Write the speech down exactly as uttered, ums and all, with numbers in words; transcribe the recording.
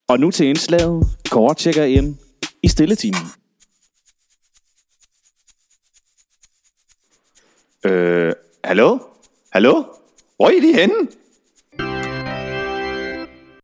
Og nu til indslaget. Kåre tjekker ind i stilletimen. Øh, hallo? Hallo? Hvor er I lige henne?